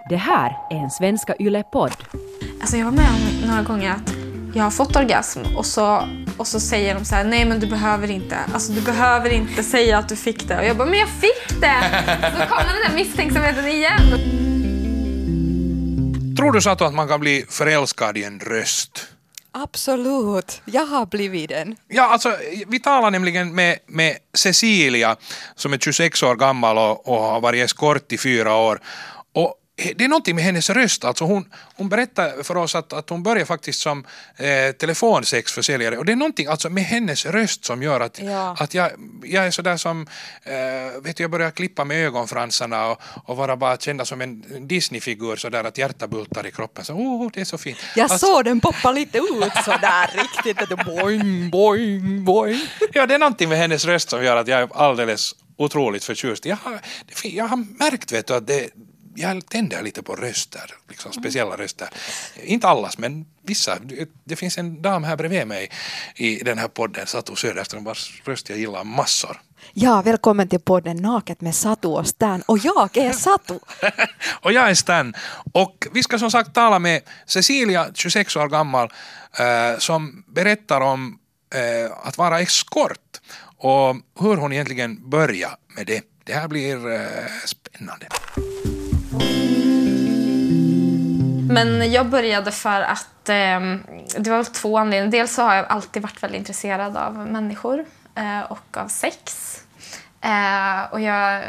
Det här är en Svenska Yle-podd. Alltså jag var med om några gånger att jag har fått orgasm och så säger de så här: nej men du behöver inte. Alltså du behöver inte säga att du fick det. Och jag bara, men jag fick det! Så kommer den där misstänksamheten igen. Tror du, Satu, att man kan bli förälskad i en röst? Absolut, jag har blivit den. Ja, alltså, vi talar nämligen med Cecilia som är 26 år gammal och har varit eskort i 4 år. Och det är någonting med hennes röst. Alltså hon berättar för oss att hon börjar faktiskt som telefonsexförsäljare. Och det är någonting alltså med hennes röst som gör att jag är sådär som, jag börjar klippa med ögonfransarna och vara bara kända som en Disney-figur sådär att hjärta bultar i kroppen. Så, det är så fint. Jag såg den poppa lite ut sådär riktigt. Boing, boing, boing. Ja, det är någonting med hennes röst som gör att jag är alldeles otroligt förtjust. Jag har märkt, vet du, att jag tänder lite på röster, liksom speciella röster. Inte allas, men vissa. Det finns en dam här bredvid mig i den här podden, Satu Söderström, vars röst jag gillar massor. Ja, välkommen till podden Naket med Satu och Stan. Och jag är Satu. Och jag är Stan. Och vi ska som sagt tala med Cecilia, 26 år gammal, som berättar om att vara eskort och hur hon egentligen börjar med det. Det här blir spännande. Men jag började för att det var 2 anledningar. Dels så har jag alltid varit väldigt intresserad av människor och av sex. Och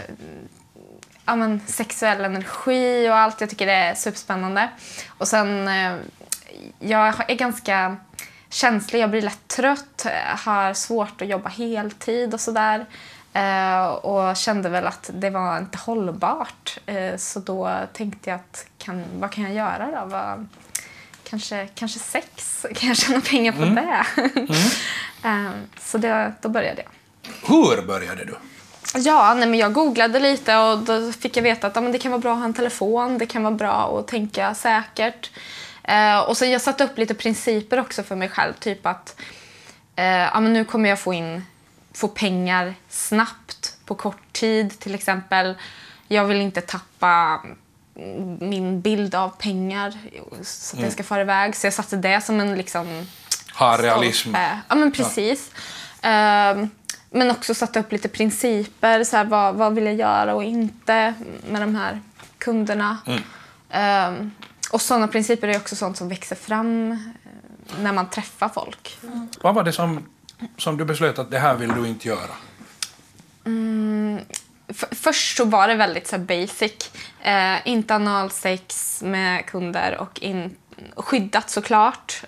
sexuell energi och allt. Jag tycker det är superspännande. Och sen, jag är ganska känslig. Jag blir lätt trött. Har svårt att jobba heltid och sådär. Och kände väl att det var inte hållbart. Så då tänkte jag att vad kan jag göra då? Kanske sex? Kan jag tjäna pengar på det? Så då började jag. Hur började du? Ja, men jag googlade lite och då fick jag veta att det kan vara bra att ha en telefon. Det kan vara bra att tänka säkert. Och så jag satte upp lite principer också för mig själv. Typ att nu kommer jag få pengar snabbt på kort tid till exempel. Jag vill inte tappa min bild av pengar så att jag ska fara iväg. Så jag satte det som en liksom realism. Ja, men precis. Men också satte upp lite principer. Så här, vad vill jag göra och inte med de här kunderna. Och sådana principer är också sånt som växer fram när man träffar folk. Vad var det som du beslöt att det här vill du inte göra? Först så var det väldigt så basic. Inte analsex med kunder och skyddat såklart.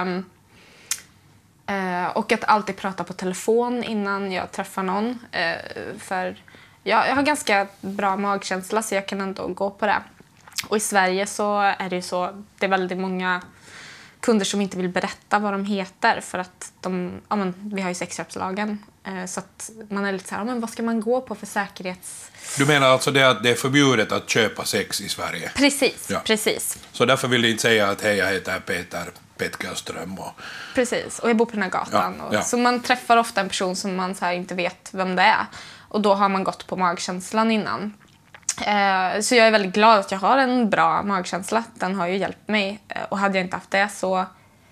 Och att alltid prata på telefon innan jag träffar någon. För jag har ganska bra magkänsla så jag kan ändå gå på det. Och i Sverige så är det ju så, det är väldigt många kunder som inte vill berätta vad de heter för att vi har ju sexköpslagen. Så att man är lite så här, vad ska man gå på för säkerhets... Du menar alltså det att det är förbjudet att köpa sex i Sverige? Precis, ja. Precis. Så därför vill du inte säga att hej, jag heter Peter Petkerström och... Precis, och jag bor på den här gatan. Ja. Så man träffar ofta en person som man så här inte vet vem det är. Och då har man gått på magkänslan innan. Så jag är väldigt glad att jag har en bra magkänsla. Den har ju hjälpt mig. Och hade jag inte haft det så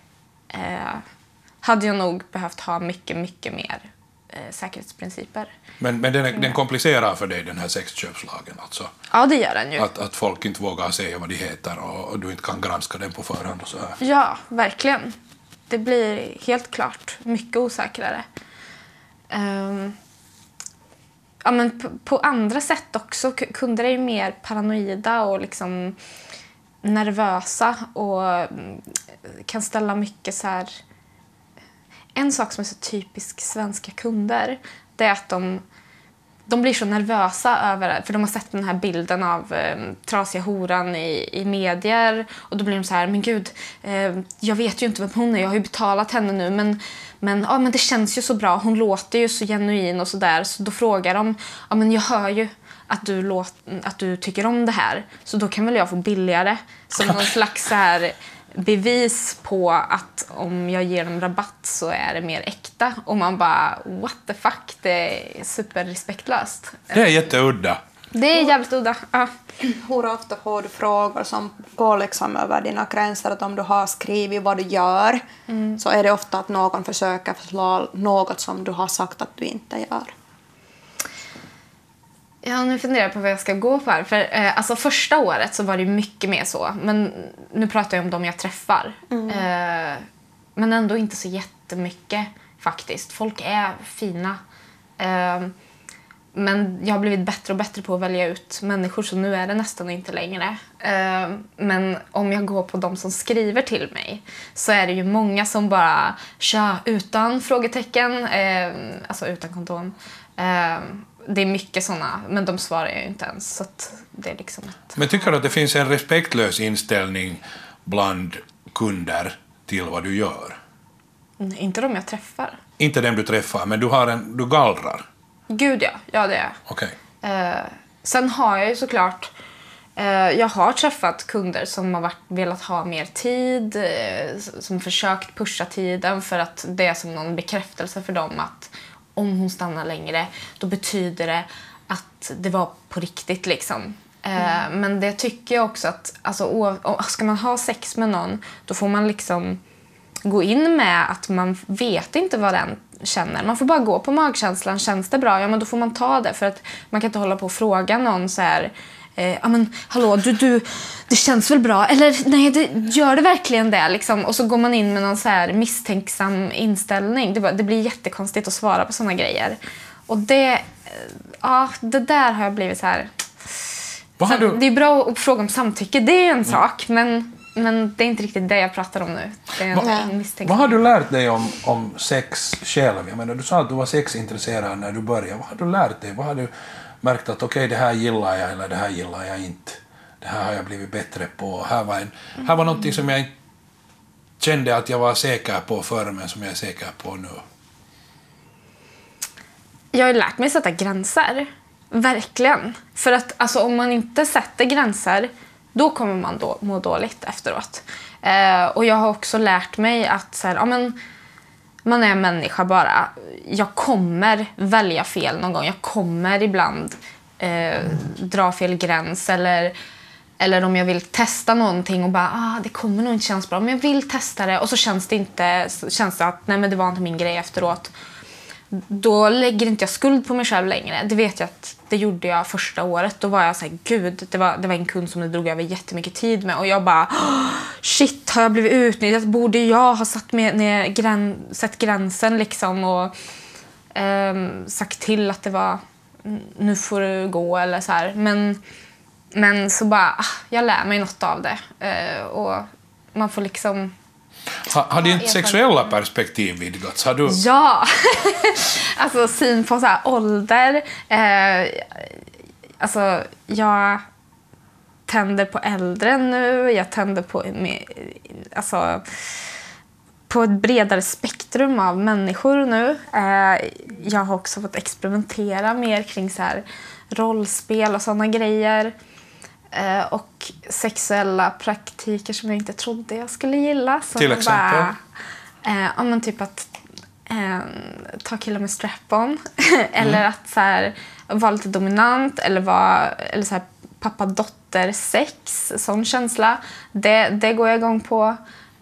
hade jag nog behövt ha mycket, mycket mer säkerhetsprinciper. Men den komplicerar för dig den här sexköpslagen alltså? Ja, det gör den ju. Att folk inte vågar säga vad de heter och du inte kan granska den på förhand och så här. Ja, verkligen. Det blir helt klart mycket osäkrare. Men på andra sätt också. Kunder är ju mer paranoida och liksom nervösa och kan ställa mycket så här... En sak som är så typisk svenska kunder, det är att de blir så nervösa över, för de har sett den här bilden av trasiga horan i medier och då blir de så här, men gud, jag vet ju inte vem hon är, jag har ju betalat henne nu, men det känns ju så bra, hon låter ju så genuin och sådär, så då frågar de, men jag hör ju att du tycker om det här, så då kan väl jag få billigare, som någon slags så här bevis på att om jag ger dem rabatt så är det mer äkta. Och man bara, what the fuck, det är superrespektlöst. Det är jätteudda. Det är jävligt udda. Ja. Hur ofta får du frågor som går liksom över dina gränser? Att om du har skrivit vad du gör så är det ofta att någon försöker förslå något som du har sagt att du inte gör. Ja, nu funderar jag på vad jag ska gå på här. För, alltså första året så var det mycket mer så. Men nu pratar jag om dem jag träffar. Men ändå inte så jättemycket faktiskt. Folk är fina. Men jag har blivit bättre och bättre på att välja ut människor, så nu är det nästan inte längre. Men om jag går på de som skriver till mig så är det ju många som bara kör utan frågetecken, alltså utan kondom. Det är mycket såna, men de svarar jag ju inte ens, så att det är liksom ett... Men tycker du att det finns en respektlös inställning bland kunder till vad du gör? Nej, inte de jag träffar. Inte dem du träffar, men du gallrar? Gud ja, det är jag. Okej. Sen har jag ju såklart... jag har träffat kunder som har velat ha mer tid, som försökt pusha tiden för att det är som någon bekräftelse för dem att om hon stannar längre, då betyder det att det var på riktigt liksom. Men det tycker jag också att alltså, ska man ha sex med någon, då får man liksom gå in med att man vet inte vad den känner. Man får bara gå på magkänslan. Känns det bra? Ja, men då får man ta det. För att man kan inte hålla på och fråga någon så här... ja men hallå, du, det känns väl bra? Eller nej, gör det verkligen det? Liksom. Och så går man in med någon så här misstänksam inställning. Det blir jättekonstigt att svara på såna grejer. Och det där har jag blivit så här... Det är bra att fråga om samtycke, det är en sak. Men det är inte riktigt det jag pratar om nu. Det är en misstänksam. Vad har du lärt dig om sex själv? Jag menar, du sa att du var sexintresserad när du började. Vad har du lärt dig? Vad har du märkt att okej, det här gillar jag eller det här gillar jag inte? Det här har jag blivit bättre på. Här var någonting som jag inte kände att jag var säker på förr, men som jag är säker på nu. Jag har lärt mig sätta gränser. Verkligen. För att alltså, om man inte sätter gränser, då kommer man då må dåligt efteråt. Och jag har också lärt mig att så här, ja, men, man är människa bara. Jag kommer välja fel någon gång. Jag kommer ibland dra fel gräns. Eller om jag vill testa någonting och bara, det kommer nog inte kännas bra. Men jag vill testa det och så känns det att nej, men det var inte min grej efteråt. Då lägger inte jag skuld på mig själv längre. Det vet jag att det gjorde jag första året. Då var jag så här, gud, det var en kund som det drog över jättemycket tid med. Och jag bara, shit, har jag blivit utnyttjad? Borde jag ha sett gränsen liksom och sagt till att det var, nu får du gå eller så här. Men så bara, jag lär mig något av det. Och man får liksom... Har ditt sexuella perspektiv vidgats? Har du... Ja, alltså syn på så här ålder. Alltså jag tänder på äldre nu. Jag tänder på ett bredare spektrum av människor nu. Jag har också fått experimentera mer kring så här rollspel och såna grejer. Och sexuella praktiker som jag inte trodde jag skulle gilla. Som till exempel? Men typ att ta killar med strap-on. Eller att så här, vara lite dominant. Eller så här, pappa-dotter-sex. Sån känsla. Det går jag igång på.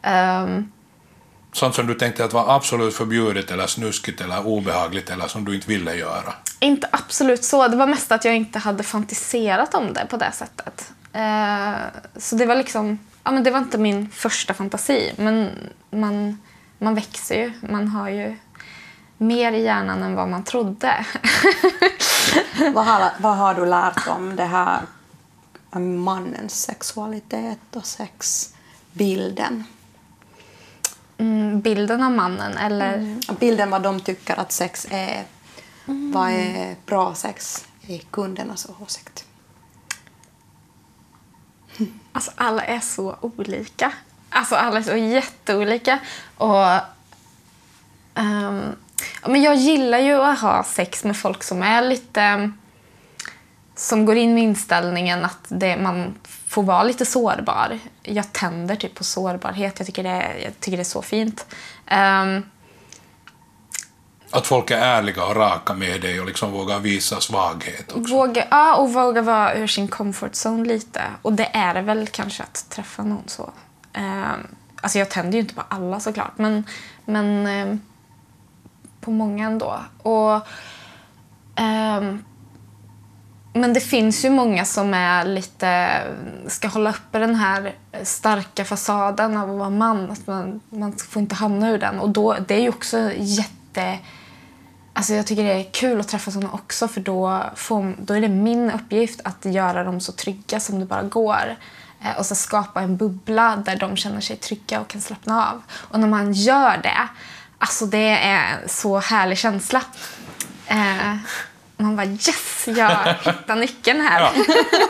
Sånt som du tänkte att var absolut förbjudet eller snuskigt eller obehagligt eller som du inte ville göra? Inte absolut så. Det var mest att jag inte hade fantiserat om det på det sättet. Så det var liksom... Ja, men det var inte min första fantasi. Men man växer ju. Man har ju mer i hjärnan än vad man trodde. Vad har du lärt om det här mannens sexualitet och sexbilden? Bilden av mannen, eller... Bilden vad de tycker att sex är. Vad är bra sex i kundernas åsikt? Alltså alla är så olika. Alltså alla är så jätteolika. Och men jag gillar ju att ha sex med folk som är lite... Som går in med inställningen att man får vara lite sårbar. Jag tänder typ på sårbarhet. Jag tycker det är så fint. Att folk är ärliga och raka med dig och liksom vågar visa svaghet också. Våga vara ur sin comfort zone lite. Och det är det väl kanske att träffa någon så. Alltså jag tänder ju inte på alla såklart. Men på många ändå. Men det finns ju många som är lite ska hålla uppe den här starka fasaden av att vara man. Att man får inte hamna ur den. Och då, det är ju också alltså jag tycker det är kul att träffa sådana också, för då är det min uppgift att göra dem så trygga som det bara går. Och så skapa en bubbla där de känner sig trygga och kan slappna av. Och när man gör det, alltså det är en så härlig känsla. Man bara yes, jag hittar nyckeln här. Ja.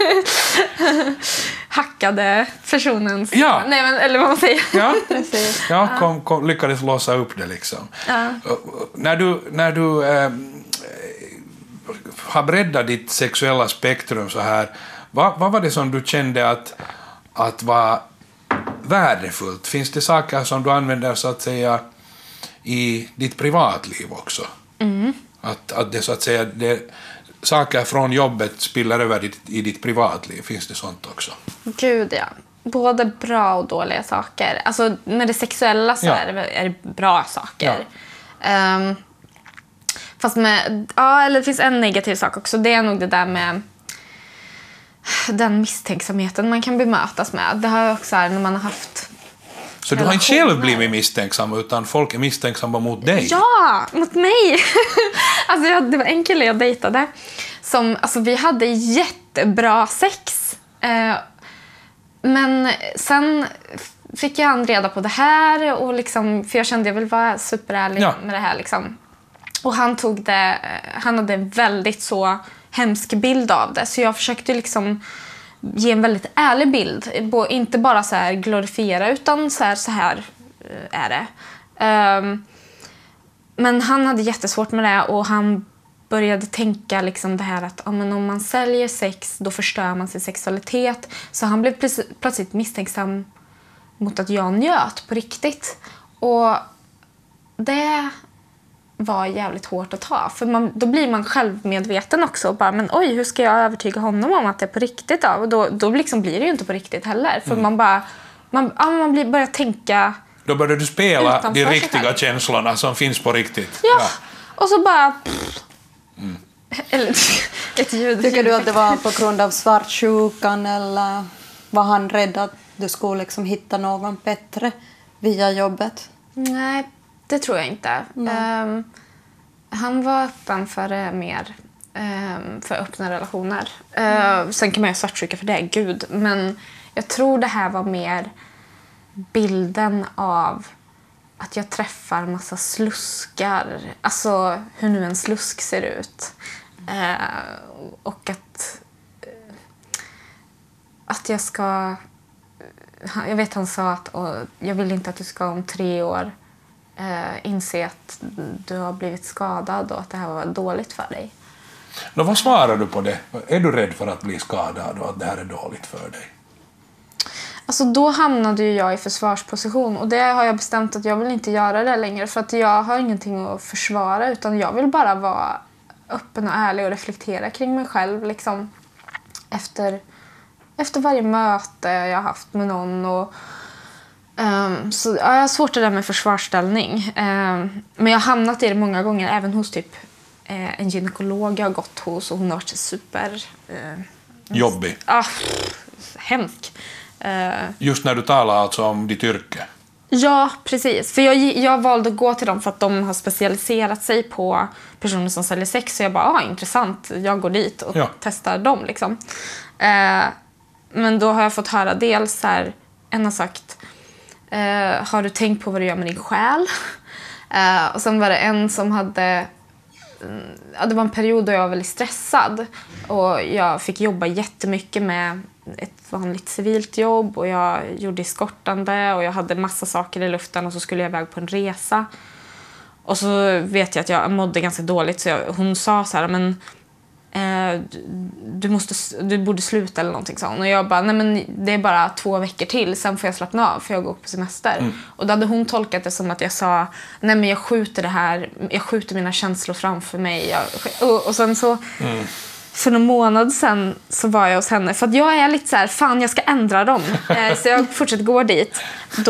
Hackade personens... Ja. Nej, men, eller vad man säger. Ja, Precis. ja lyckades låsa upp det liksom. Ja. När du har breddat ditt sexuella spektrum så här, vad var det som du kände att var värdefullt? Finns det saker som du använder så att säga i ditt privatliv också? Mm. Att det så att säga saker från jobbet spiller över i ditt privatliv. Finns det sånt också? Gud, ja. Både bra och dåliga saker. Alltså med det sexuella så är det bra saker. Ja. Fast eller det finns en negativ sak också. Det är nog det där med den misstänksamheten man kan bemötas med. Det har jag också när man har haft... Så du har inte själv blivit misstänksam, utan folk är misstänksamma mot dig? Ja, mot mig! Alltså det var en kille jag dejtade som, alltså vi hade jättebra sex. Men sen fick jag reda på det här och liksom, för jag kände jag vill vara superärlig med det här liksom. Och han hade en väldigt så hemsk bild av det, så jag försökte liksom ge en väldigt ärlig bild, inte bara så här glorifiera, utan så här är det. Men han hade jättesvårt med det, och han började tänka liksom det här att men om man säljer sex, då förstör man sin sexualitet. Så han blev plötsligt misstänksam mot att jag njöt på riktigt. Och det var jävligt hårt att ta. För då blir man självmedveten också. Och bara, men oj, hur ska jag övertyga honom om att det är på riktigt? Då? Och då liksom blir det ju inte på riktigt heller. För man börjar tänka... Då börjar du spela de riktiga känslorna som finns på riktigt. Ja. Och så bara... Eller ett ljud. Tycker du att det var på grund av svartsjukan, eller var han rädd att du skulle liksom hitta någon bättre via jobbet? Nej, det tror jag inte. Han var öppen för mer för öppna relationer. Sen kan man ju svartsjuka för det, gud. Men jag tror det här var mer bilden av att jag träffar massa sluskar. Alltså hur nu en slusk ser ut. Och att jag ska... Jag vet han sa att jag vill inte att du ska om 3 år inse att du har blivit skadad och att det här var dåligt för dig. Vad svarar du på det? Är du rädd för att bli skadad och att det här är dåligt för dig? Alltså då hamnade ju jag i försvarsposition, och det har jag bestämt att jag vill inte göra det längre, för att jag har ingenting att försvara, utan jag vill bara vara öppen och ärlig och reflektera kring mig själv liksom, efter varje möte jag har haft med någon. Och, så jag har svårt det där med försvarsställning. Men jag har hamnat i det många gånger, även hos typ en gynekolog jag har gått hos, och hon har varit super... Jobbig? Hemsk. Just när du talar alltså om ditt yrke? Ja, precis. För jag valde att gå till dem för att de har specialiserat sig på personer som säljer sex. Så jag bara, intressant. Jag går dit och testar dem liksom. Men då har jag fått höra dels här, en har sagt, har du tänkt på vad du gör med din själ? Och sen var det en som hade... det var en period då jag var väldigt stressad. Och jag fick jobba jättemycket med ett vanligt civilt jobb. Och jag gjorde eskortande. Och jag hade massa saker i luften. Och så skulle jag iväg på en resa. Och så vet jag att jag mådde ganska dåligt. Så hon sa så här, men du borde sluta eller någonting sånt. Och jag bara, nej men det är bara 2 veckor till, sen får jag slappna av för jag går på semester. Och då hade hon tolkat det som att jag sa, nej men jag skjuter mina känslor framför mig. Och sen så, för någon månad sen så var jag hos henne, för att jag är lite så här, fan jag ska ändra dem. Så jag fortsätter gå dit.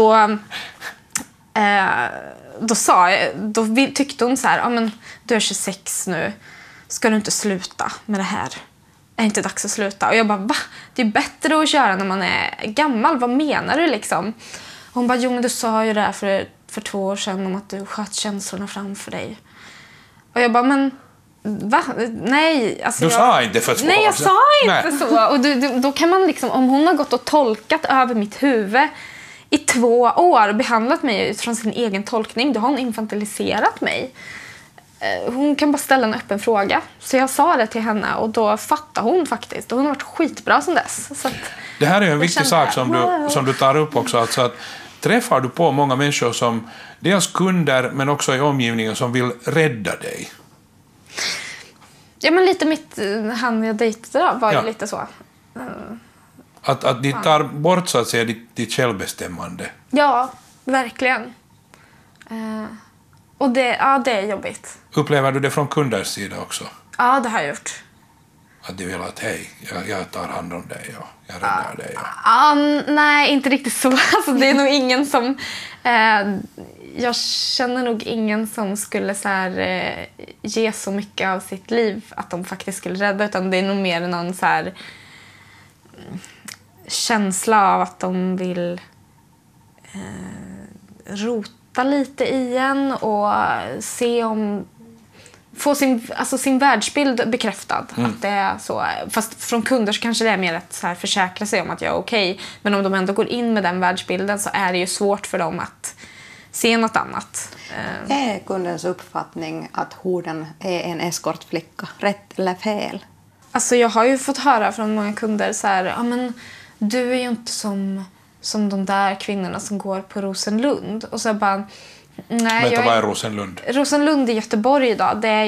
Då tyckte hon så här, ja men du är 26 nu, ska du inte sluta med det här? Är det inte dags att sluta? Och jag bara, va? Det är bättre att köra när man är gammal, vad menar du liksom? Och hon bara, jo men du sa ju det här för 2 år sedan om att du sköt känslorna framför dig. Och jag bara, men va? Nej. Alltså du sa inte för 2 år sedan. Nej, jag sa inte så. Och då kan man liksom, om hon har gått och tolkat över mitt huvud i 2 år och behandlat mig utifrån sin egen tolkning, då har hon infantiliserat mig. Hon kan bara ställa en öppen fråga. Så jag sa det till henne och då fattade hon faktiskt. Och hon har varit skitbra som dess. Så att det här är en viktig sak som du tar upp också. Alltså att träffar du på många människor som dels kunder men också i omgivningen som vill rädda dig? Ja, men lite han jag dejtade då var ju lite så. Att de tar bort så att säga ditt självbestämmande. Ja, verkligen. Och det är jobbigt. Upplever du det från kunders sida också? Ja, det har jag gjort. Att de vill att hej, jag tar hand om dig och jag räddar dig. Nej, inte riktigt så. Alltså, det är nog ingen som... jag känner nog ingen som skulle så här, ge så mycket av sitt liv att de faktiskt skulle rädda. Utan det är nog mer någon så här, känsla av att de vill rota lite i en och se om... få sin världsbild bekräftad. Att det är så. Fast från kunder så kanske det är mer att så här försäkra sig om att jag är okej. Men om de ändå går in med den världsbilden så är det ju svårt för dem att se något annat. Är kundens uppfattning att horden är en eskortflicka rätt eller fel? Alltså jag har ju fått höra från många kunder så här, ja men du är ju inte som de där kvinnorna som går på Rosenlund. Och så bara, nej. Vad är Rosenlund? Rosenlund i Göteborg idag, det är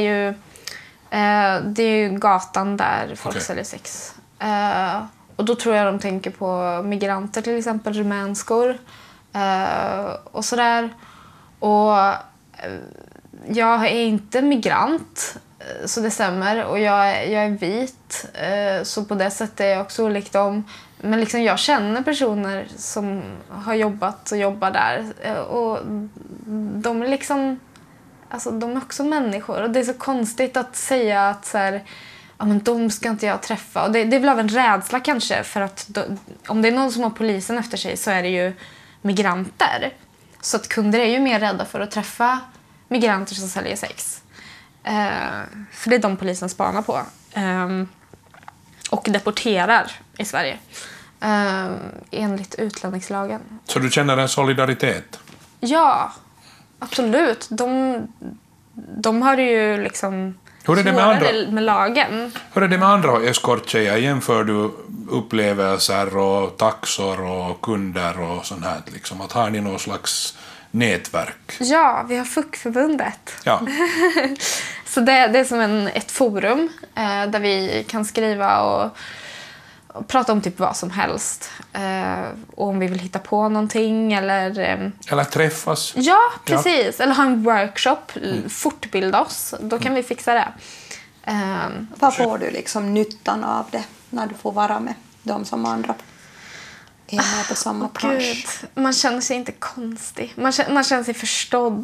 ju gatan där folk säljer sex. Och då tror jag de tänker på migranter, till exempel rumänskor och sådär. Och jag är inte migrant, så det stämmer. Och jag är vit, så på det sättet är jag också olik dem. Men liksom jag känner personer som har jobbat och jobbar där. Och de är liksom... Alltså de är också människor. Och det är så konstigt att säga att så här, ja, men de ska inte jag träffa. Och det är väl av en rädsla kanske. För att om det är någon som har polisen efter sig så är det ju migranter. Så att kunder är ju mer rädda för att träffa migranter som säljer sex. För det är de polisen spanar på. Och deporterar i Sverige. Enligt utlänningslagen. Så du känner en solidaritet? Ja, absolut. De har ju liksom hur är det med lagen. Hur är det med andra eskorttjejer? Jämför du upplevelser och taxor och kunder och sånt här? Liksom, att har ni någon slags nätverk? Ja, vi har FUK-förbundet. Ja. Så det är som ett forum där vi kan skriva och prata om typ vad som helst. Och om vi vill hitta på någonting eller träffas. Ja, precis. Ja. Eller ha en workshop, fortbilda oss. Då kan vi fixa det. Vad får du liksom nyttan av det när du får vara med de som andra är med på samma bransch? Man känner sig inte konstig. Man känner sig förstådd.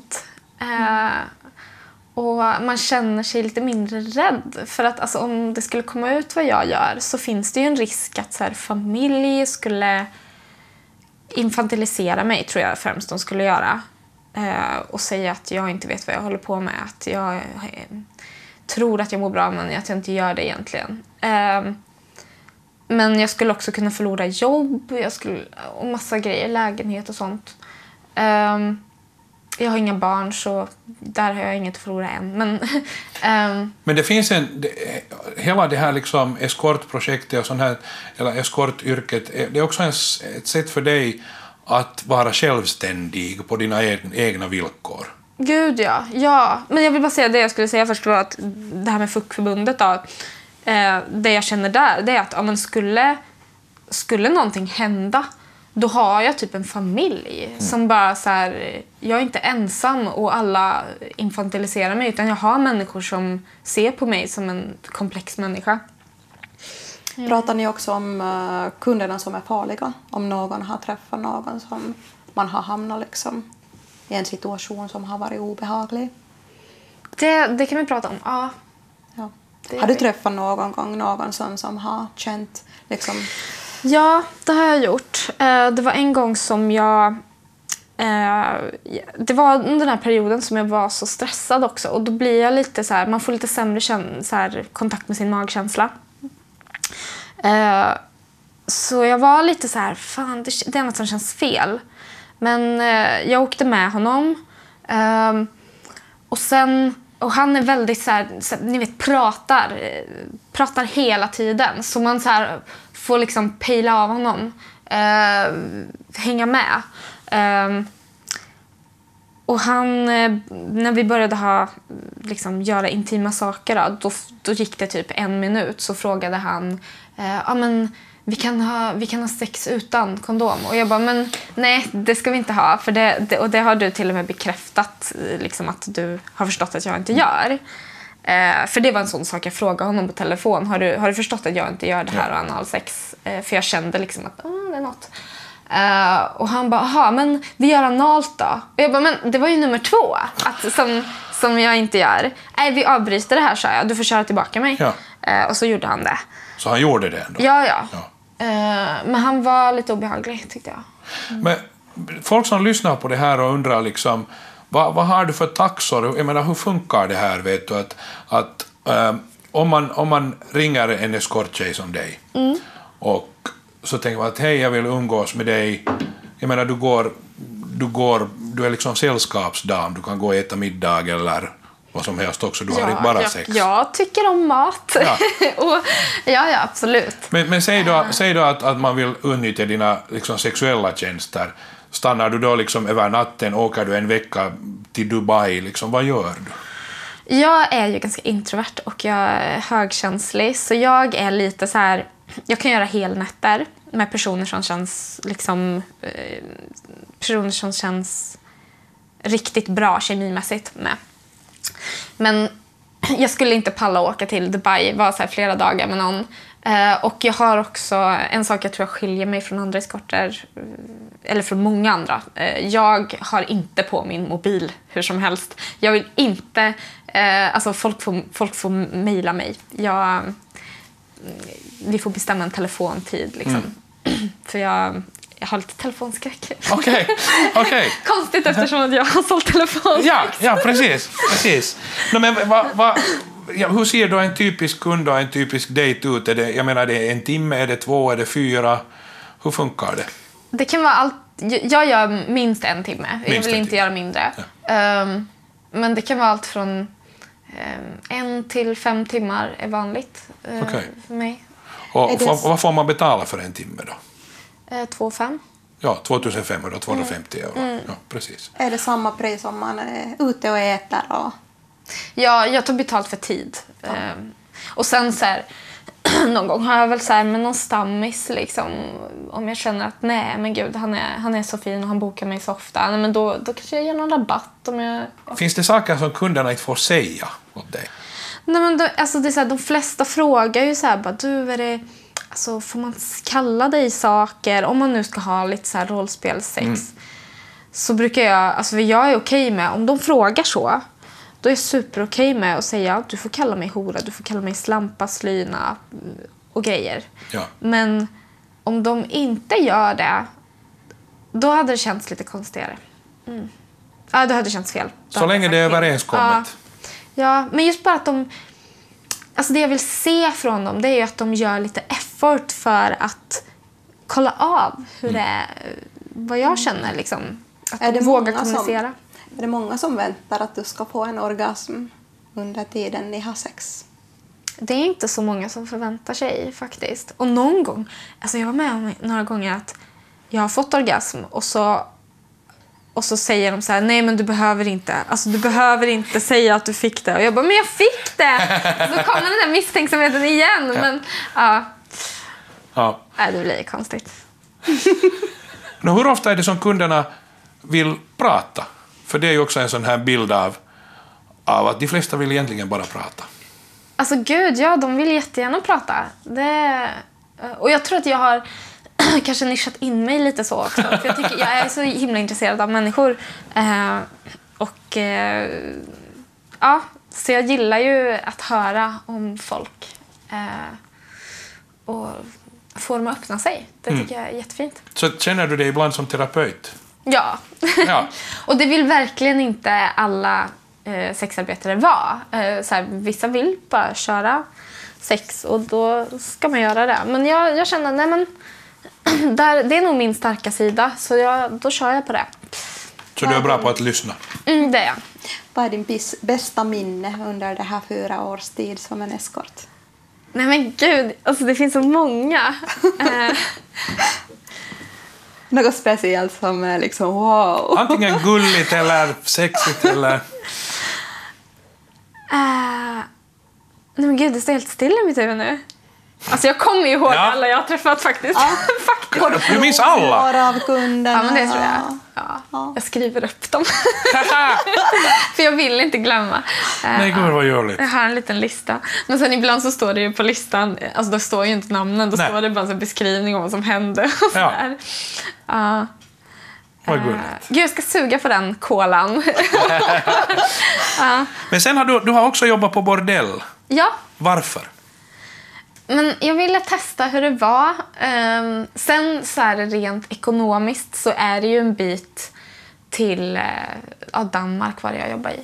Och man känner sig lite mindre rädd. För att alltså, om det skulle komma ut vad jag gör så finns det ju en risk att så här, familj skulle infantilisera mig, tror jag främst de skulle göra. Och säga att jag inte vet vad jag håller på med. Att jag tror att jag mår bra men att jag inte gör det egentligen. Men jag skulle också kunna förlora jobb. Och massa grejer, lägenhet och sånt. Jag har inga barn så där har jag inget att förlora än. Men det finns hela det här liksom eskortprojektet och sånt här, eller eskortyrket, det är också ett sätt för dig att vara självständig på dina egna villkor. Gud ja. Men jag vill bara säga det jag skulle säga först var att det här med FUK-förbundet då. det jag känner där, det är att men skulle någonting hända, då har jag typ en familj som bara så här, jag är inte ensam och alla infantiliserar mig, utan jag har människor som ser på mig som en komplex människa. Pratar ni också om kunderna som är farliga? Om någon har träffat någon som man har hamnat liksom i en situation som har varit obehaglig? Det kan vi prata om, ja. Ja. Har du träffat någon gång någon som har känt liksom... Ja, det har jag gjort. Det var en gång som jag... Det var under den här perioden som jag var så stressad också. Och då blir jag lite så här... Man får lite sämre så här, kontakt med sin magkänsla. Så jag var lite så här... Fan, det är något som känns fel. Men jag åkte med honom. Och sen... Och han är väldigt så här, ni vet, pratar hela tiden. Så man så här får liksom pejla av honom. Hänga med. Och han, när vi började göra intima saker, då gick det typ 1 minut. Så frågade han, men vi kan ha sex utan kondom. Och jag bara, men nej, det ska vi inte ha. För det har du till och med bekräftat liksom, att du har förstått att jag inte gör. För det var en sån sak jag frågade honom på telefon. Har du förstått att jag inte gör det här och analsex? För jag kände liksom att det är något. Och han bara, men vi gör analt då. Och jag bara, men det var ju nummer 2 som jag inte gör. Nej, vi avbryter det här, sa jag. Du får köra tillbaka mig. Ja. Och så gjorde han det. Så han gjorde det ändå? Ja. Men han var lite obehaglig, tyckte jag. Men folk som lyssnar på det här och undrar liksom, vad har du för taxor? Jag menar, hur funkar det här? Vet du, att om man ringer en eskorttjej som dig och så tänker man att hej, jag vill umgås med dig. Jag menar, du är liksom sällskapsdam. Du kan gå och äta middag eller vad som helst också. Du har inte bara sex. Jag tycker om mat. Ja, ja absolut. Men säg då att man vill utnyttja dina liksom sexuella tjänster. Stannar du då liksom över natten, åker du en vecka till Dubai, liksom, vad gör du? Jag är ju ganska introvert och jag är högkänslig, så jag är lite så här, jag kan göra helnätter med personer som känns riktigt bra kemimässigt med. Men jag skulle inte palla åka till Dubai, vara så här flera dagar med någon. Och jag har också en sak jag tror jag skiljer mig från andra eskorter, eller från många andra. Jag har inte på min mobil hur som helst. Jag vill inte, alltså folk får mejla mig. Vi får bestämma en telefontid liksom. För jag har lite telefonskräck. Okej. Konstigt eftersom att jag har sålt telefonskräck. Ja, precis. No, men hur ser då en typisk kund och en typisk dejt ut? Jag menar, det är 1 timme, är det 2, är det 4? Hur funkar det? Det kan vara allt. Jag gör minst 1 timme. Jag vill inte göra mindre. Ja. Men det kan vara allt från 1 till 5 timmar är vanligt för mig. Och vad får man betala för 1 timme då? 2,5. Ja, 2500, 250 euro. Ja, precis. Är det samma pris om man är ute och äter? Och... Ja, jag tar betalt för tid. Och sen så här, någon gång har jag väl så här med någon stammis liksom, om jag känner att nej men gud, han är så fin och han bokar mig så ofta. Nej, men då kanske jag ger någon rabatt om jag... Finns det saker som kunderna inte får säga åt dig? Nej, men alltså det är så här, de flesta frågar ju så här, bara, du, är det, alltså, får man kalla dig saker om man nu ska ha lite så här rollspelsex? Så brukar jag, alltså jag är okej med, om de frågar så, då är jag superokej med att säga, du får kalla mig hora, du får kalla mig slampa, slyna och grejer. Ja. Men om de inte gör det, då hade det känts lite konstigare. Ja, det hade känts fel. Så länge det är överenskommet. Ja, men just bara att de... Alltså det jag vill se från dem, det är ju att de gör lite effort för att kolla av hur det är, vad jag känner liksom. Att de vågar kommunicera. Är det många som väntar att du ska få en orgasm under tiden ni har sex? Det är inte så många som förväntar sig faktiskt. Och någon gång, alltså jag var med om några gånger att jag har fått orgasm och Och så säger de så här, nej men du behöver inte säga att du fick det. Och jag bara, men jag fick det! Och så kommer den där misstänksamheten igen. Ja. Men ja. Ja. Nej, det blir konstigt. Hur ofta är det som kunderna vill prata? För det är ju också en sån här bild av att de flesta vill egentligen bara prata. Alltså gud, ja, de vill jättegärna prata. Och jag tror att jag har kanske nischat in mig lite så också. För jag är så himla intresserad av människor. Ja, så jag gillar ju att höra om folk. Och få dem att öppna sig. Det tycker jag är jättefint. Så känner du dig ibland som terapeut? Ja. Ja. Och det vill verkligen inte alla sexarbetare vara. Vissa vill bara köra sex och då ska man göra det. Men jag känner, nej men det är nog min starka sida, så då kör jag på det. Så du är bra på att lyssna? Det är jag. Vad är din bästa minne under det här 4 års tid som en eskort? Nej men gud, alltså det finns så många. Något speciellt som är liksom wow. Antingen gulligt eller sexigt eller... Nej men gud, det står helt still i mitt huvud nu. Alltså jag kommer ju ihåg alla jag har träffat faktiskt. faktiskt. Du minns alla? Av kunderna. Ja, men det tror jag. Ja. Jag skriver upp dem. För jag vill inte glömma. Nej, gud vad görligt. Jag har en liten lista. Men sen ibland så står det ju på listan, alltså då står ju inte namnen, då står det bara en beskrivning om vad som hände. Ja. Vad gulligt. Gud, jag ska suga på den kolan. Men sen har du har också jobbat på bordell. Ja. Varför? Men jag ville testa hur det var. Sen så är det rent ekonomiskt så är det ju en bit till Danmark var det jag jobbade i.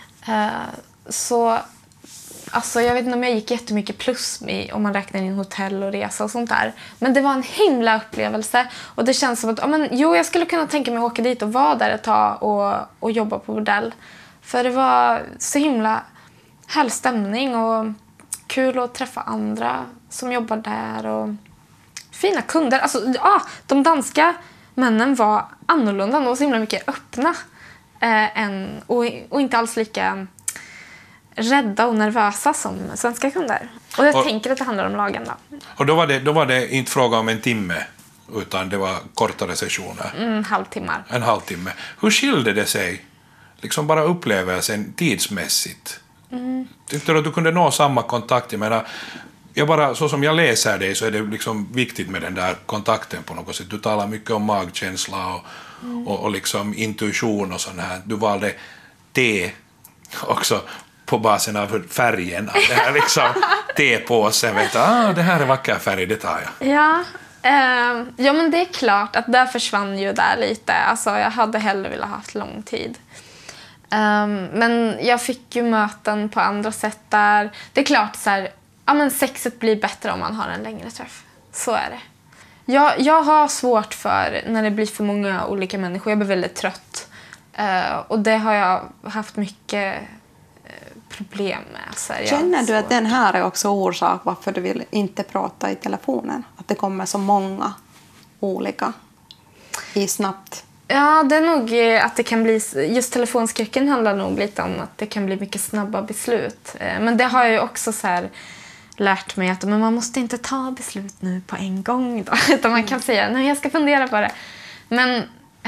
Så alltså, jag vet inte om jag gick jättemycket plus om man räknar in hotell och resa och sånt där. Men det var en himla upplevelse. Och det känns som att jag skulle kunna tänka mig att åka dit och vara där ett tag och jobba på bordell. För det var så himla härlig stämning och kul att träffa andra som jobbar där och fina kunder. Alltså, de danska männen var annorlunda. De var så himla mycket öppna och inte alls lika rädda och nervösa som svenska kunder. Och jag tänker att det handlar om lagen då. Och då var det inte fråga om en timme utan det var kortare sessioner. Halvtimmar. En halvtimme. Hur skilde det sig? Liksom bara upplevelsen tidsmässigt. Tyckte du att du kunde nå samma kontakt? Jag menar, så som jag läser dig så är det liksom viktigt med den där kontakten på något sätt. Du talar mycket om magkänsla och liksom intuition och sånt här. Du valde te också på basen av färgen. Det här liksom tepåsen. Vet du, det här är vacker färg, det tar jag. Ja, men det är klart att där försvann ju där lite. Alltså, jag hade hellre velat ha haft lång tid. Men jag fick ju möten på andra sätt där. Det är klart så här, men sexet blir bättre om man har en längre träff. Så är det. Jag har svårt för när det blir för många olika människor. Jag blir väldigt trött. Och det har jag haft mycket problem med. Så Känner du att den här är också orsak varför du vill inte prata i telefonen? Att det kommer så många olika i snabbt? Ja, det är nog att det kan bli... Just telefonskräcken handlar nog lite om att det kan bli mycket snabba beslut. Men det har jag ju också så här lärt mig att man måste inte ta beslut nu på en gång då. Utan man kan säga, nej jag ska fundera på det. Men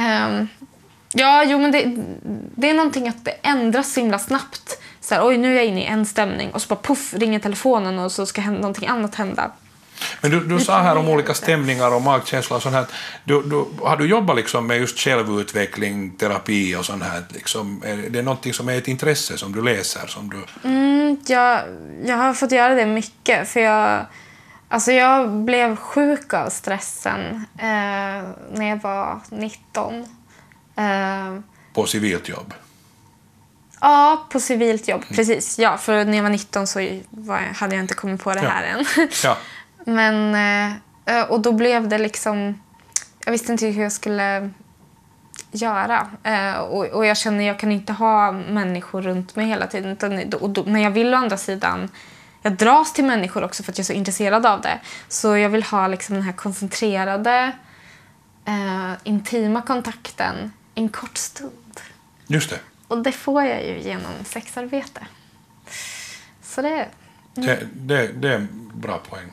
men det är någonting att det ändras så himla snabbt. Så här, oj nu är jag inne i en stämning och så bara puff ringer telefonen och så ska någonting annat hända. Men du sa här om olika stämningar och magkänsla och sånt här. Har du jobbat liksom med just självutveckling, terapi och sånt här? Liksom, är det någonting som är ett intresse som du läser? Som du... Jag har fått göra det mycket. För jag blev sjuk av stressen när jag var 19. På civilt jobb? Ja, på civilt jobb. Precis. Ja, för när jag var 19 så hade jag inte kommit på det här än. Ja. Men, och då blev det liksom... Jag visste inte hur jag skulle göra. Och jag känner att jag kan inte ha människor runt mig hela tiden. Men jag vill å andra sidan... Jag dras till människor också för att jag är så intresserad av det. Så jag vill ha liksom den här koncentrerade, intima kontakten en kort stund. Just det. Och det får jag ju genom sexarbete. Så det... Det är en bra poäng.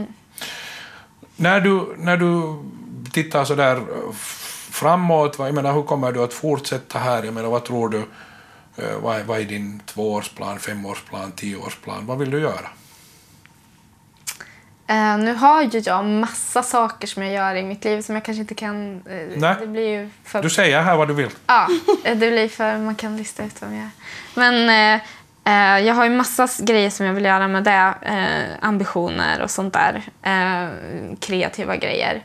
När du tittar så där framåt, jag menar, hur kommer du att fortsätta här? Jag menar, vad tror du, vad är din 2-årsplan, 5-årsplan, 10-årsplan? Vad vill du göra? Nu har ju jag massa saker som jag gör i mitt liv som jag kanske inte kan... Nej. Det blir ju för... Du säger här vad du vill. Ja, det blir för... Man kan lista ut vad jag gör. Men jag har ju massa grejer som jag vill göra med det. Ambitioner och sånt där. Kreativa grejer.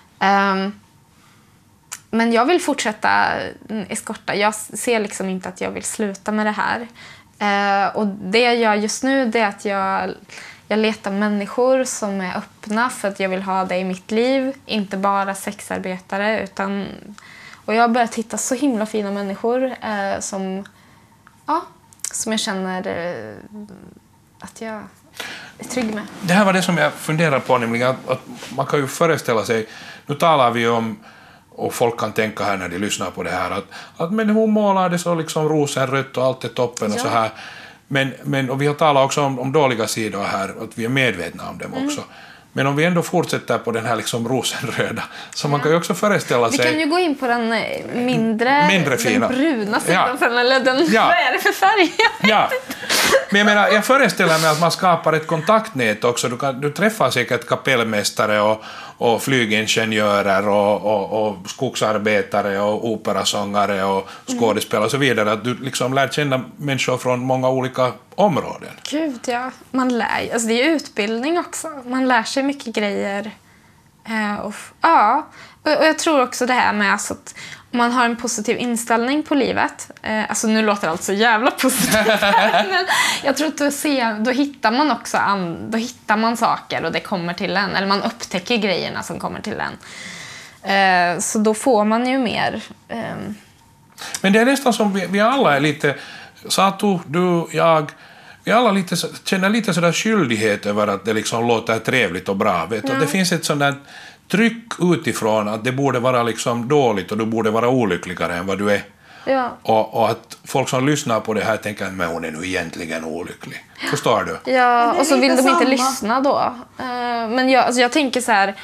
Men jag vill fortsätta eskorta. Jag ser liksom inte att jag vill sluta med det här. Och det jag gör just nu, det är att jag letar människor som är öppna för att jag vill ha det i mitt liv. Inte bara sexarbetare. Och jag har börjat hitta så himla fina människor som jag känner att jag är trygg med. Det här var det som jag funderar på, nämligen att man kan ju föreställa sig, nu talar vi om, och folk kan tänka här när de lyssnar på det här, att men hon målar det så liksom rosenrött och allt är toppen och så här. Men och vi har talat också om dåliga sidor här, att vi är medvetna om dem också. Men om vi ändå fortsätter på den här liksom rosenröda, så man kan ju också föreställa sig... Vi kan ju gå in på den mindre fina. Den bruna sidan sen, eller den... Vad är det för färg? Ja. Men jag menar, jag föreställer mig att man skapar ett kontaktnät också. Du träffar säkert kapellmästare och flygingenjörer och skogsarbetare och operasångare och skådespelare och så vidare. Att du liksom lär känna människor från många olika områden. Gud, ja. Man lär, alltså det är utbildning också. Man lär sig mycket grejer. Och jag tror också det här med alltså att om man har en positiv inställning på livet. Alltså nu låter allt så jävla positivt. Men jag tror att då hittar man också då hittar man saker och det kommer till en. Eller man upptäcker grejerna som kommer till en. Så då får man ju mer. Men det är nästan som vi alla är lite... Satu, du, jag... Vi alla känner lite sådär skyldighet över att det liksom låter trevligt och bra. Vet du? Det finns ett sådant tryck utifrån att det borde vara liksom dåligt och du borde vara olyckligare än vad du är. Ja. Och att folk som lyssnar på det här tänker att hon är nu egentligen olycklig. Förstår du? Ja, och så vill de inte lyssna då. Men jag tänker så här...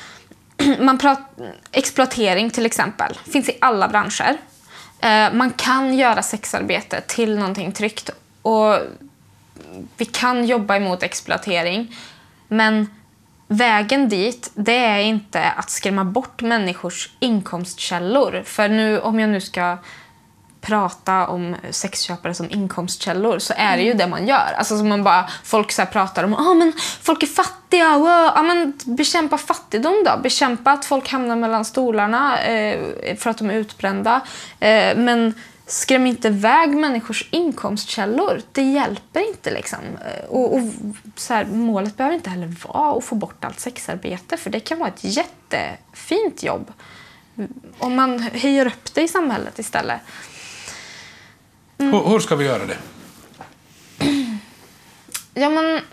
exploatering till exempel finns i alla branscher. Man kan göra sexarbete till någonting tryggt. Och vi kan jobba emot exploatering. Men vägen dit, det är inte att skrämma bort människors inkomstkällor. För nu, om jag nu ska prata om sexköpare som inkomstkällor, så är det ju det man gör. Alltså som man bara, folk så här pratar om, men folk är fattiga, men bekämpa fattigdom då. Bekämpa att folk hamnar mellan stolarna för att de är utbrända. Men skräm inte iväg människors inkomstkällor. Det hjälper inte liksom. Och så här, målet behöver inte heller vara att få bort allt sexarbete. För det kan vara ett jättefint jobb. Om man höjer upp det i samhället istället. Hur ska vi göra det? Ja, men...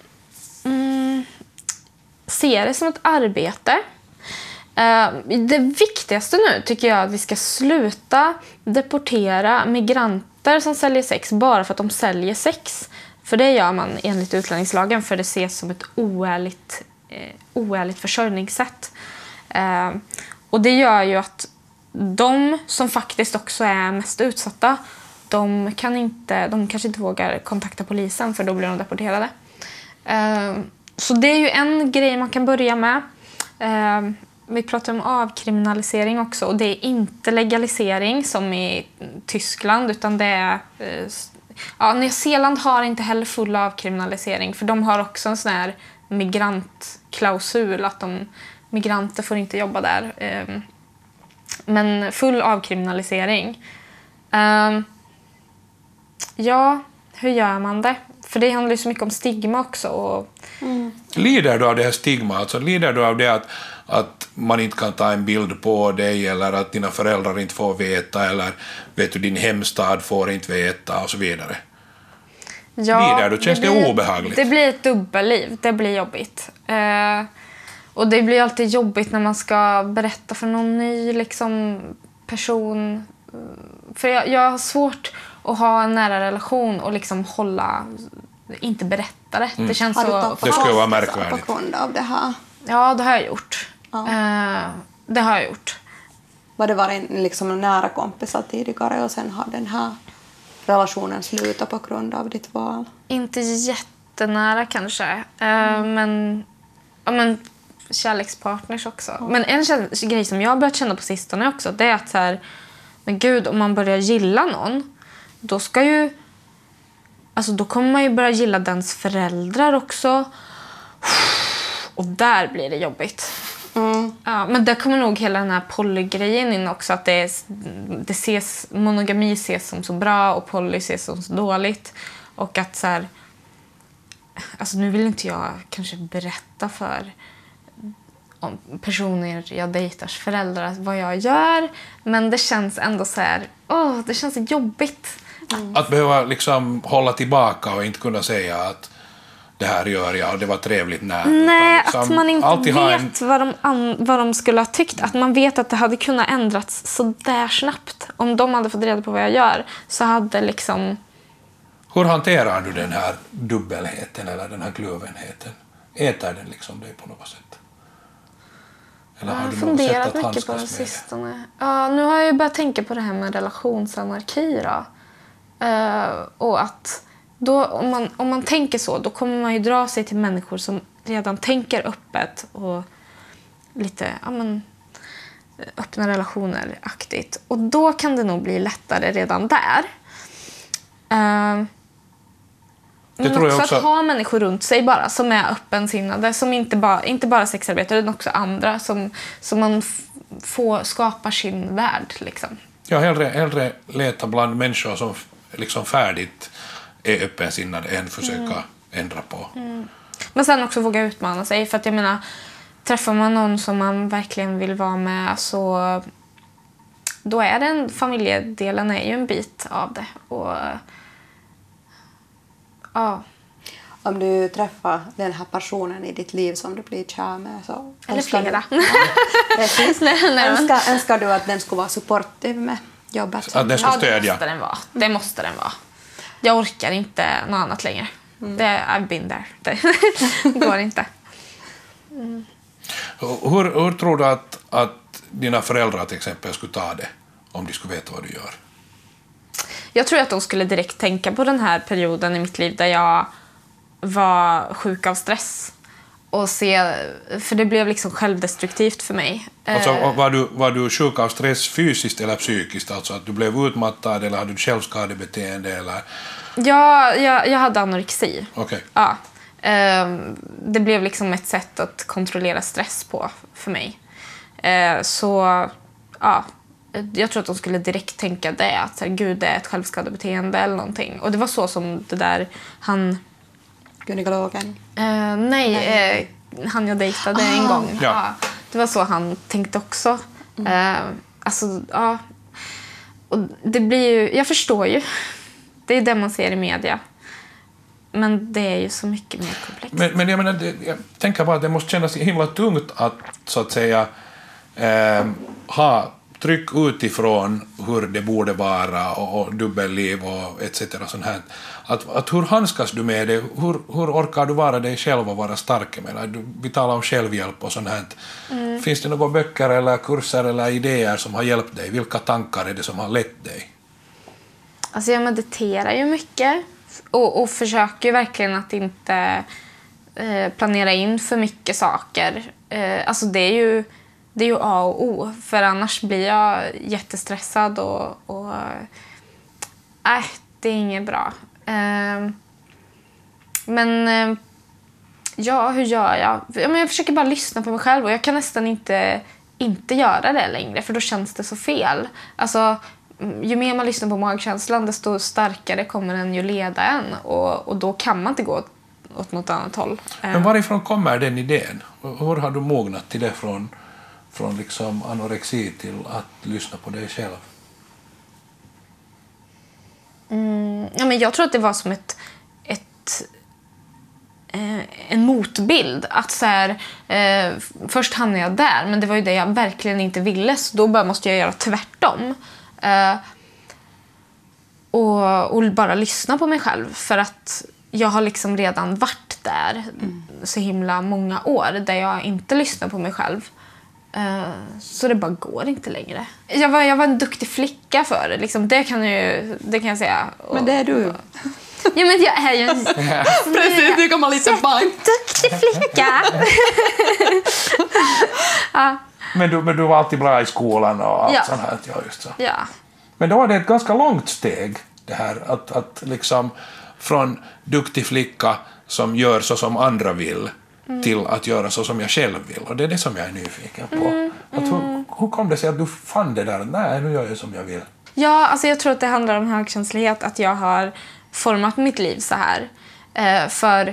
se det som ett arbete. Det viktigaste nu tycker jag att vi ska sluta deportera migranter som säljer sex bara för att de säljer sex. För det gör man enligt utlänningslagen, för det ses som ett oärligt försörjningssätt. Och det gör ju att de som faktiskt också är mest utsatta, de kanske inte vågar kontakta polisen, för då blir de deporterade. Så det är ju en grej man kan börja med. Vi pratar om avkriminalisering också, och det är inte legalisering som i Tyskland, utan det är... Nya Zeeland har inte heller full avkriminalisering, för de har också en sån här migrantklausul att migranter får inte jobba där. Men full avkriminalisering. Ja, hur gör man det? För det handlar ju så mycket om stigma också. Lider du av det här stigma? Alltså, lider du av det att man inte kan ta en bild på dig, eller att dina föräldrar inte får veta, eller vet du, din hemstad får inte veta och så vidare? Ja, lider du? Känns det obehagligt? Det blir ett dubbelliv. Det blir jobbigt. Och det blir alltid jobbigt när man ska berätta för någon ny person För jag har svårt att ha en nära relation och liksom inte berätta det. Det känns Har du så... tappat Det skulle vara kompisar märkvärdigt. på grund av det här? Ja, det har jag gjort. Ja. Det har jag gjort. Var det varit liksom en nära kompisar tidigare och sen har den här relationen slutat på grund av ditt val? Inte jättenära kanske. Men kärlekspartners också. Men en grej som jag har börjat känna på sistone också, det är att så här, men gud, om man börjar gilla någon, då ska ju... Alltså då kommer man ju börja gilla dens föräldrar också. Och där blir det jobbigt. Ja, men där kommer nog hela den här polygrejen in också. Att monogami ses som så bra och poly ses som så dåligt. Och att så här... Alltså nu vill inte jag kanske berätta för personer jag dejtars föräldrar vad jag gör. Men det känns ändå så här... det känns jobbigt. Att behöva liksom hålla tillbaka och inte kunna säga att det här gör jag och det var trevligt när. Nej, liksom, att man inte alltid vet vad de skulle ha tyckt. Att man vet att det hade kunnat ändras så där snabbt. Om de hade fått reda på vad jag gör så hade liksom... Hur hanterar du den här dubbelheten eller den här kluvenheten? Äter den liksom dig på något sätt? Eller har Jag har du något sätt funderat att mycket på handskas det med sistone. Ja, nu har jag ju börjat tänka på det här med relationsanarki då. Och att då, om man tänker så, då kommer man ju dra sig till människor som redan tänker öppet och lite öppna relationer-aktigt. Och då kan det nog bli lättare redan där. Men tror jag också också. att ha människor runt sig bara som är öppensinnade, som inte bara sexarbetare utan också andra som man skapar sin värld liksom. Jag hellre leta bland människor som liksom färdigt är öppensinnade än försöka ändra på. Men sen också våga utmana sig, för att jag menar, träffar man någon som man verkligen vill vara med så då är familjedelen är ju en bit av det. Och ja. Om du träffar den här personen i ditt liv som du blir kär med så... Eller flera. Precis. Nej. Önskar du att den skulle vara supportiv med jobbet? Att den ska Ja, det stödja. måste den vara. Det måste den vara. Jag orkar inte något annat längre. I've been there. Det går inte. Hur tror du att dina föräldrar till exempel skulle ta det om de skulle veta vad du gör? Jag tror att de skulle direkt tänka på den här perioden i mitt liv där jag var sjuk av stress. Och för det blev liksom självdestruktivt för mig. Alltså, var du sjuk av stress fysiskt eller psykiskt? Alltså att du blev utmattad eller hade du självskadebeteende? Eller? Ja, jag hade anorexi. Okay. Ja. Det blev liksom ett sätt att kontrollera stress på för mig. Så ja, jag tror att de skulle direkt tänka det. Att gud, det är ett självskadebeteende eller någonting. Och det var så som det där Gynekologen? Nej, han jag dejtade en gång. Ja. Ja, det var så han tänkte också. Alltså, ja. Och det blir ju, jag förstår ju. Det är det man ser i media. Men det är ju så mycket mer komplext. Men jag menar, jag tänker bara att det måste kännas himla tungt att så att säga ha tryck utifrån hur det borde vara och dubbelliv och etc. Sånt här. Att hur handskas du med det? Hur orkar du vara dig själv och vara stark? Vi talar om självhjälp och sånt här. Finns det några böcker eller kurser eller idéer som har hjälpt dig? Vilka tankar är det som har lett dig? Alltså jag mediterar ju mycket och försöker ju verkligen att inte planera in för mycket saker. Alltså det är ju A och O, för annars blir jag jättestressad och det är inget bra. Men ja, hur gör jag? Jag försöker bara lyssna på mig själv och jag kan nästan inte göra det längre, för då känns det så fel. Alltså, ju mer man lyssnar på magkänslan, desto starkare kommer den ju leda en och då kan man inte gå åt något annat håll. Men varifrån kommer den idén? Hur har du mognat till det från liksom anorexi till att lyssna på dig själv? Ja, men jag tror att det var som en motbild. Att så här, först hamnade jag där, men det var ju det jag verkligen inte ville, så då måste jag göra tvärtom. Och bara lyssna på mig själv. För att jag har liksom redan varit där så himla många år där jag inte lyssnar på mig själv. Så det bara går inte längre. Jag var en duktig flicka för liksom, det kan jag säga. Men det är du. Ja, men jag är ju en Precis, nu kan man lite bank. duktig flicka. Men du var alltid bra i skolan och allt sånt här. Ja, just så. Ja. Men då var det ett ganska långt steg det här att liksom från duktig flicka som gör så som andra vill till att göra så som jag själv vill. Och det är det som jag är nyfiken på. Hur kom det sig att du fann det där? Nej, nu gör jag som jag vill. Ja, alltså jag tror att det handlar om högkänslighet, att jag har format mitt liv så här. För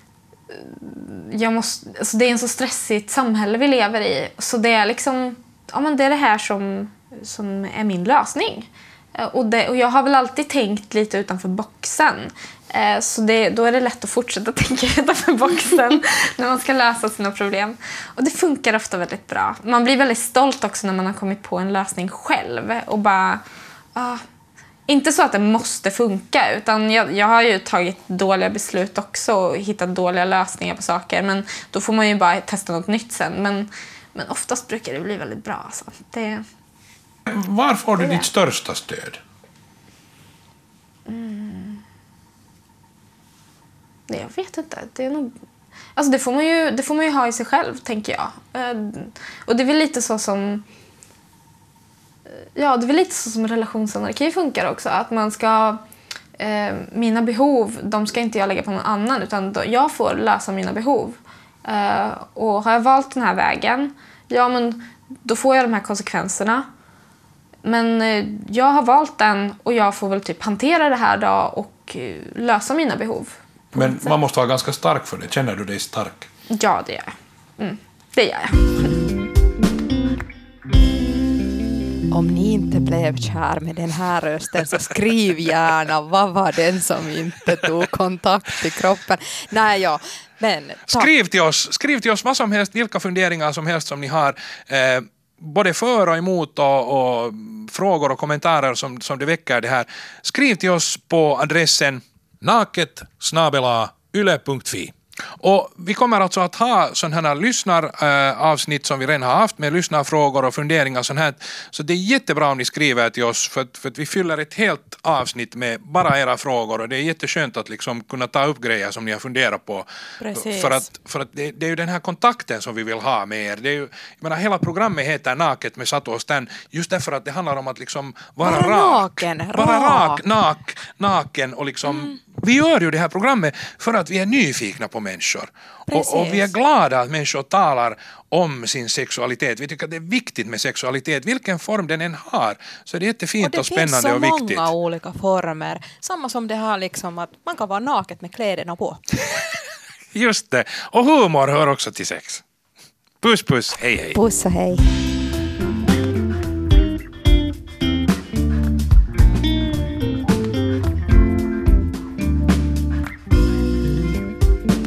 alltså det är en så stressigt samhälle vi lever i. Så det är liksom, ja, men det är det här som är min lösning. Och jag har väl alltid tänkt lite utanför boxen. Så då är det lätt att fortsätta tänka utanför boxen när man ska lösa sina problem. Och det funkar ofta väldigt bra. Man blir väldigt stolt också när man har kommit på en lösning själv. Och bara... inte så att det måste funka, utan jag har ju tagit dåliga beslut också och hittat dåliga lösningar på saker. Men då får man ju bara testa något nytt sen. Men oftast brukar det bli väldigt bra. Alltså. Var får du ditt största stöd? Jag vet inte. Det är nog... Alltså det får man ju ha i sig själv, tänker jag. Och det är väl lite så som... Ja, det är väl lite så som relationsanarki funkar också. Att man ska... mina behov, de ska inte jag lägga på någon annan. Utan jag får lösa mina behov. Och har jag valt den här vägen, ja, men då får jag de här konsekvenserna. Men jag har valt den och jag får väl typ hantera det här då och lösa mina behov. Men man måste vara ganska stark för det. Känner du dig stark? Ja, det gör jag. Det gör jag. Om ni inte blev kär med den här rösten så skriv gärna vad var den som inte tog kontakt i kroppen. Nej, ja. Men Skriv till oss vad som helst, vilka funderingar som helst som ni har. Både för och emot och frågor och kommentarer som det väcker det här. Skriv till oss på adressen naket@yle.fi. Och vi kommer alltså att ha sådana här lyssnaravsnitt som vi redan har haft med lyssnarfrågor och funderingar sånt här. Så det är jättebra om ni skriver till oss för att vi fyller ett helt avsnitt med bara era frågor och det är jätteskönt att liksom kunna ta upp grejer som ni har funderat på. Precis. För att det är ju den här kontakten som vi vill ha med er. Det är ju, jag menar, hela programmet heter Naket med Satu och Stan just därför att det handlar om att liksom vara rak. Naken och liksom vi gör ju det här programmet för att vi är nyfikna på människor. Och vi är glada att människor talar om sin sexualitet. Vi tycker att det är viktigt med sexualitet. Vilken form den än har. Så det är jättefint och spännande och viktigt. Och det finns så många olika former. Samma som det har liksom att man kan vara naket med kläderna på. Just det. Och humor hör också till sex. Puss, puss. Hej, hej. Puss och hej.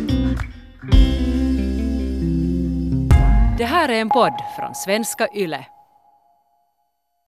Det här är en podd från Svenska Yle.